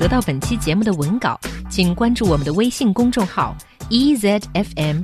得到本期节目的文稿，请关注我们的微信公众号 EZFM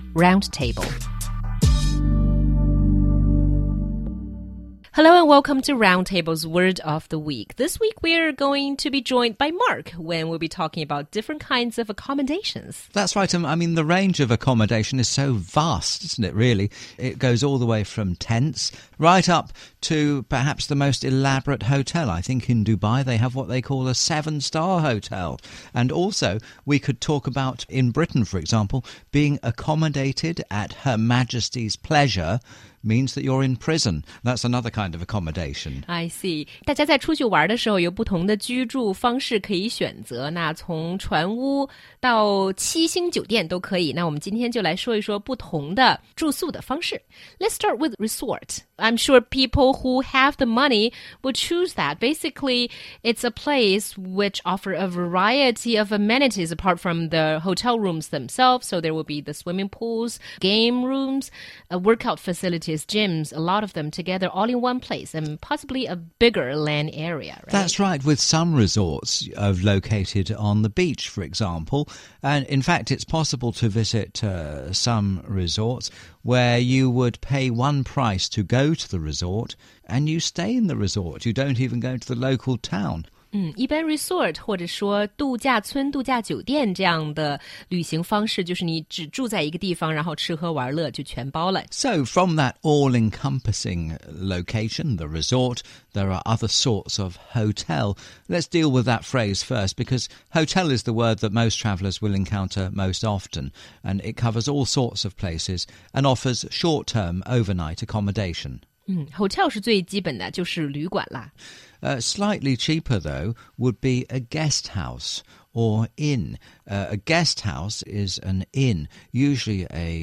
Roundtable。Hello and welcome to Roundtable's Word of the Week. This week we're going to be joined by Mark when we'll be talking about different kinds of accommodations. That's right. I mean, the range of accommodation is so vast, isn't it, really? It goes all the way from tents right up to perhaps the most elaborate hotel. I think in Dubai they have what they call a 7-star hotel. And also we could talk about, in Britain, for example, being accommodated at Her Majesty's pleasure means that you're in prison. That's another kind of accommodation. I see. 大家在出去玩的时候有不同的居住方式可以选择，那从船屋到7星酒店都可以。那我们今天就来说一说不同的住宿的方式。Let's start with resort. I'm sure people who have the money would choose that. Basically, it's a place which offer a variety of amenities apart from the hotel rooms themselves. So there will be the swimming pools, game rooms, workout facilities, gyms, a lot of them together all in one place and possibly a bigger land area. Right? That's right, with some resorts located on the beach, for example. And in fact, it's possible to visit some resorts where you would pay one price to go to the resort and you stay in the resort. You don't even go to the local town. 一般 resort 或者说度假村、度假酒店这样的旅行方式，就是你只住在一个地方，然后吃喝玩乐就全包了。 So from that all-encompassing location, the resort, there are other sorts of hotel. Let's deal with that phrase first, because hotel is the word that most travellers will encounter most often, and it covers all sorts of places and offers short-term overnight accommodation. Hotel 是最基本的，就是旅馆啦。 Slightly cheaper, though, would be a guest house or inn. A guest house is an inn, usually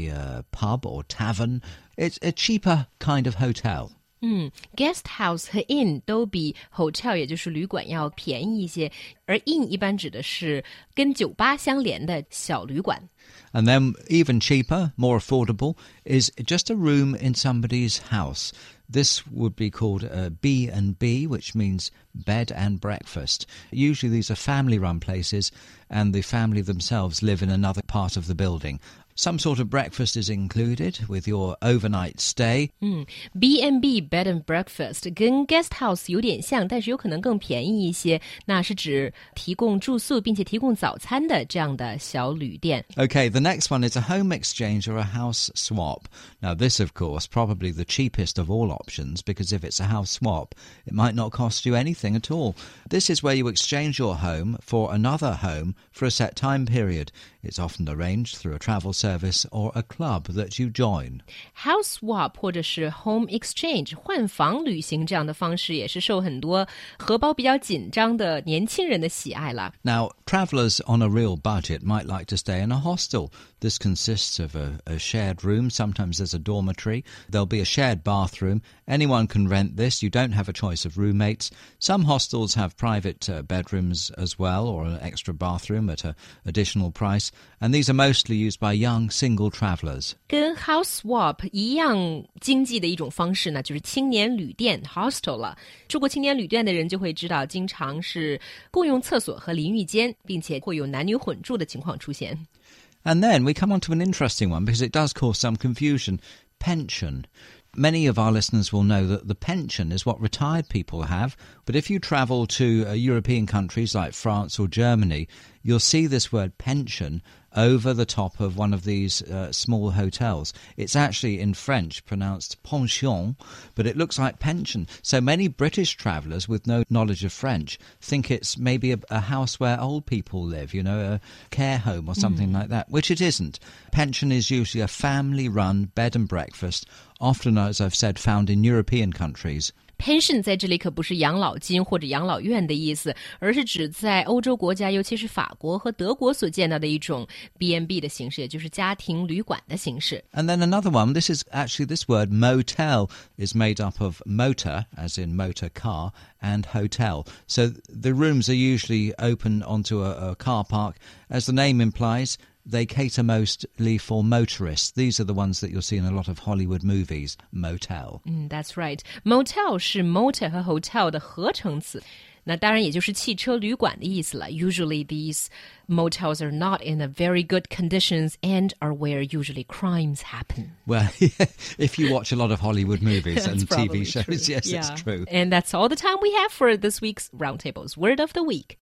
a pub or tavern. It's a cheaper kind of hotel. Guest house 和 inn 都比 hotel 也就是旅馆要便宜一些，而 inn 一般指的是跟酒吧相连的小旅馆。 And then even cheaper, more affordable, is just a room in somebody's house. This would be called a B&B, which means bed and breakfast. Usually these are family-run places and the family themselves live in another part of the building. Some sort of breakfast is included with your overnight stay. B&B, bed and breakfast, 跟 guest house 有点像，但是有可能更便宜一些。那是指提供住宿并且提供早餐的这样的小旅店。 Okay, the next one is a home exchange or a house swap. Now this, of course, probably the cheapest of all options, because if it's a house swap, it might not cost you anything at all. This is where you exchange your home for another home for a set time period. It's often arranged through a travel service or a club that you join. House swap 或者是 home exchange 换房旅行这样的方式也是受很多荷包比较紧张的年轻人的喜爱啦。 Now, travellers on a real budget might like to stay in a hostel. This consists of a shared room. Sometimes there's a dormitory. There'll be a shared bathroom. Anyone can rent this. You don't have a choice of roommates. Some hostels have private bedrooms as well, or an extra bathroom at an additional price. And these are mostly used by young single travellers. 跟 house swap 一样经济的一种方式呢，就是青年旅店 hostel 了。住过青年旅店的人就会知道，经常是共用厕所和淋浴间，并且会有男女混住的情况出现。 And then we come on to an interesting one, because it does cause some confusion. Pension. Many of our listeners will know that the pension is what retired people have, but if you travel to European countries like France or Germany, you'll see this word pension over the top of one of these small hotels. It's actually in French pronounced pension, but it looks like pension. So many British travellers with no knowledge of French think it's maybe a house where old people live, you know, a care home or something like that, which it isn't. Pension is usually a family-run bed and breakfast, often, as I've said, found in European countries. Pension 在这里可不是养老金或者养老院的意思，而是指在欧洲国家，尤其是法国和德国所见到的一种 B&B 的形式，也就是家庭旅馆的形式。 And then another one, this word motel is made up of motor, as in motor car, and hotel. So the rooms are usually open onto a car park. As the name implies, they cater mostly for motorists. These are the ones that you'll see in a lot of Hollywood movies, motel. That's right. Motel 是 motor 和 hotel 的合成词。 那当然也就是汽车旅馆的意思了。Usually these motels are not in a very good conditions and are where usually crimes happen. Well, if you watch a lot of Hollywood movies and TV shows, true. yes, Yeah. it's true. And that's all the time we have for this week's Roundtable's Word of the Week.